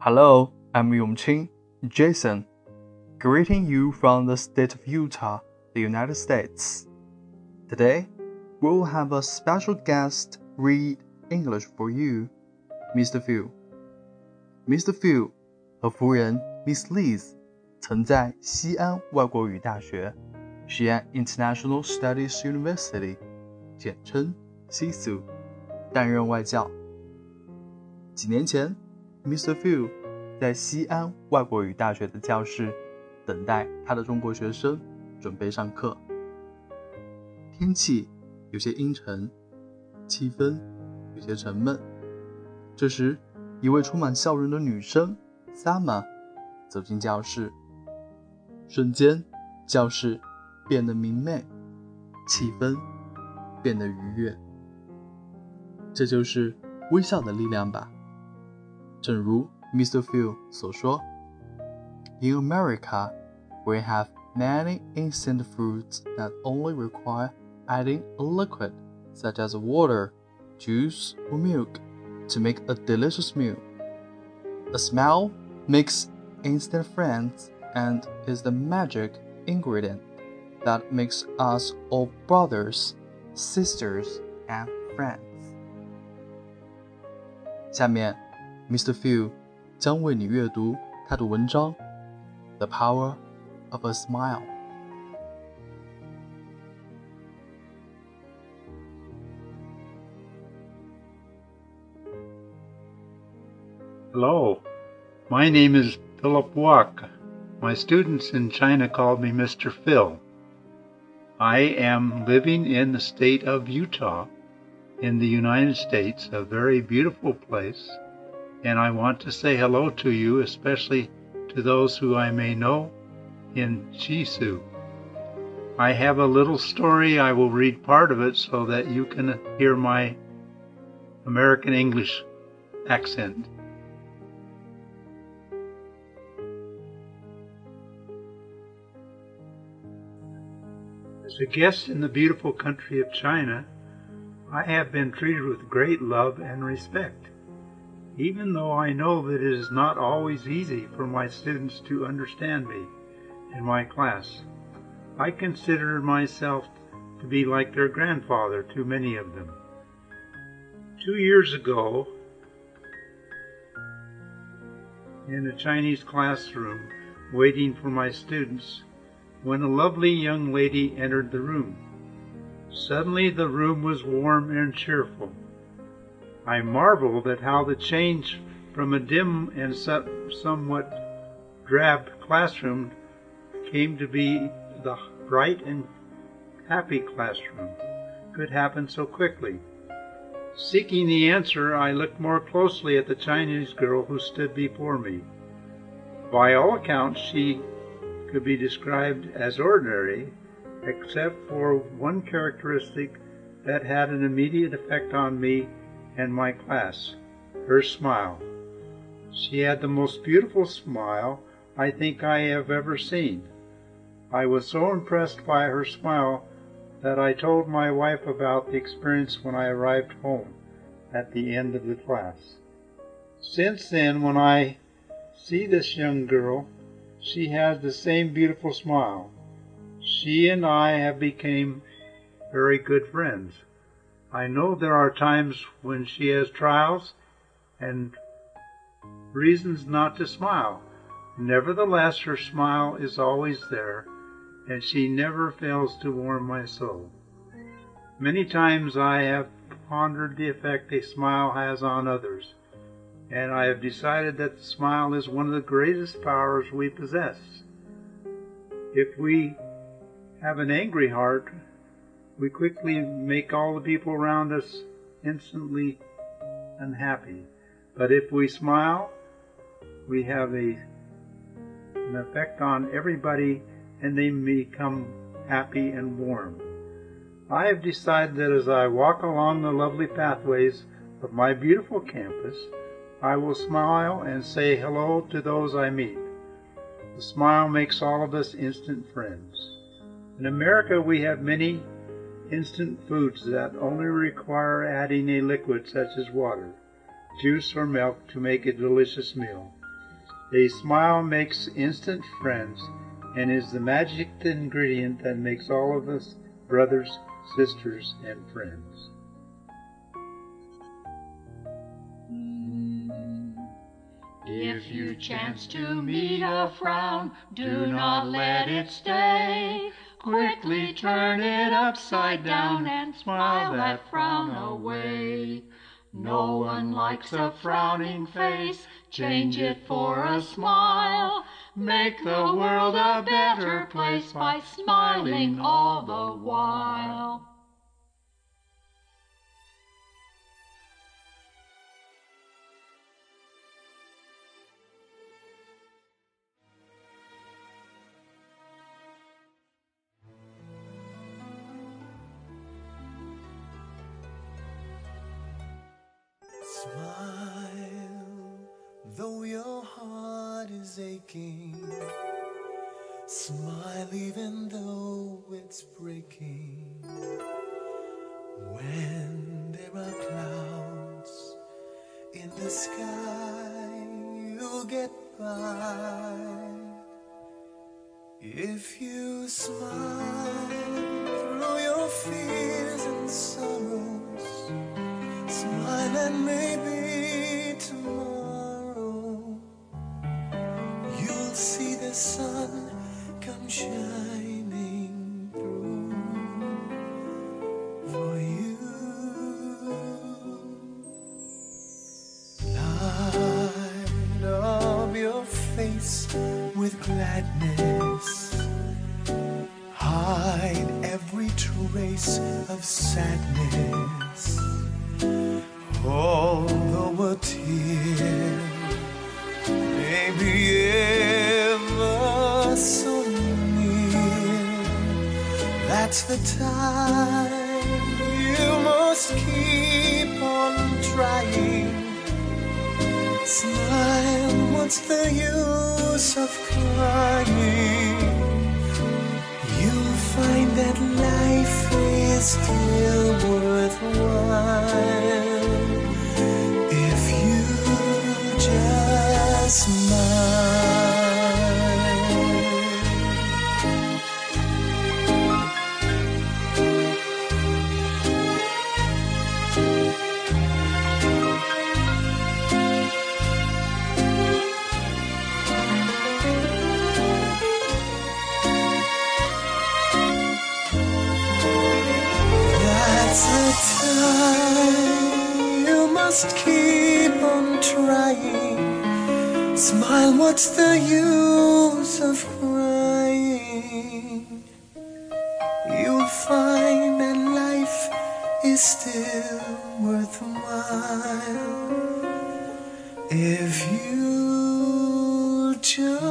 Hello, I'm Yongqing, Jason, greeting you from the state of Utah, the United States. Today, we'll have a special guest read English for you, Mr. Phil. Mr. Phil 和夫人 Miss Liz 曾在西安外国语大学，西安 International Studies University， 简称西苏，担任外教。几年前，Mr. Phil 在西安外国语大学的教室等待他的中国学生准备上课。天气有些阴沉，气氛有些沉闷。这时，一位充满笑容的女生 Sama 走进教室，瞬间教室变得明媚，气氛变得愉悦。这就是微笑的力量吧。正如 Mr. Phil 所说 In America, we have many instant foods that only require adding a liquid, such as water, juice, or milk, to make a delicious meal. A smile makes instant friends and is the magic ingredient that makes us all brothers, sisters, and friends. 下面Mr. Phil 将为你阅读他的文章 The Power of a Smile。 Hello, my name is Philip Wok. My students in China called me Mr. Phil. I am living in the state of Utah in the United States, a very beautiful place.And I want to say hello to you, especially to those who I may know in Shisu. I have a little story. I will read part of it so that you can hear my American English accent. As a guest in the beautiful country of China, I have been treated with great love and respect.Even though I know that it is not always easy for my students to understand me in my class, I consider myself to be like their grandfather to many of them. 2 years ago, in a Chinese classroom, waiting for my students, when a lovely young lady entered the room. Suddenly the room was warm and cheerful.I marveled at how the change from a dim and somewhat drab classroom came to be the bright and happy classroom could happen so quickly. Seeking the answer, I looked more closely at the Chinese girl who stood before me. By all accounts, she could be described as ordinary, except for one characteristic that had an immediate effect on me.And my class, her smile. She had the most beautiful smile I think I have ever seen. I was so impressed by her smile that I told my wife about the experience when I arrived home at the end of the class. Since then, when I see this young girl, she has the same beautiful smile. She and I have become very good friends.I know there are times when she has trials and reasons not to smile. Nevertheless, her smile is always there, and she never fails to warm my soul. Many times I have pondered the effect a smile has on others, and I have decided that the smile is one of the greatest powers we possess. If we have an angry heart,We quickly make all the people around us instantly unhappy. But if we smile, we have an effect on everybody and they become happy and warm. I have decided that as I walk along the lovely pathways of my beautiful campus, I will smile and say hello to those I meet. The smile makes all of us instant friends. In America, we have many instant foods that only require adding a liquid such as water, juice, or milk to make a delicious meal. A smile makes instant friends and is the magic ingredient that makes all of us brothers, sisters, and friends. If you chance to meet a frown, do not let it stay. Quickly turn it upside down and smile that frown away. No one likes a frowning face, change it for a smile. Make the world a better place by smiling all the while. Smile, though your heart is aching. Smile even though it's breaking. When there are clouds in the sky, you'll get by. If you smile through your fears and sorrows, smile and maybe tomorrow you'll see the sun come shining through for you. Light up your face with gladness, hide every trace of sadness. Although a tear may be ever so near, that's the time you must keep on trying. Smile, what's the use of crying? You'll find that life is still worthwhile if you just smile. You must keep on trying. Smile, what's the use of crying? You'll find that life is still worthwhile if you just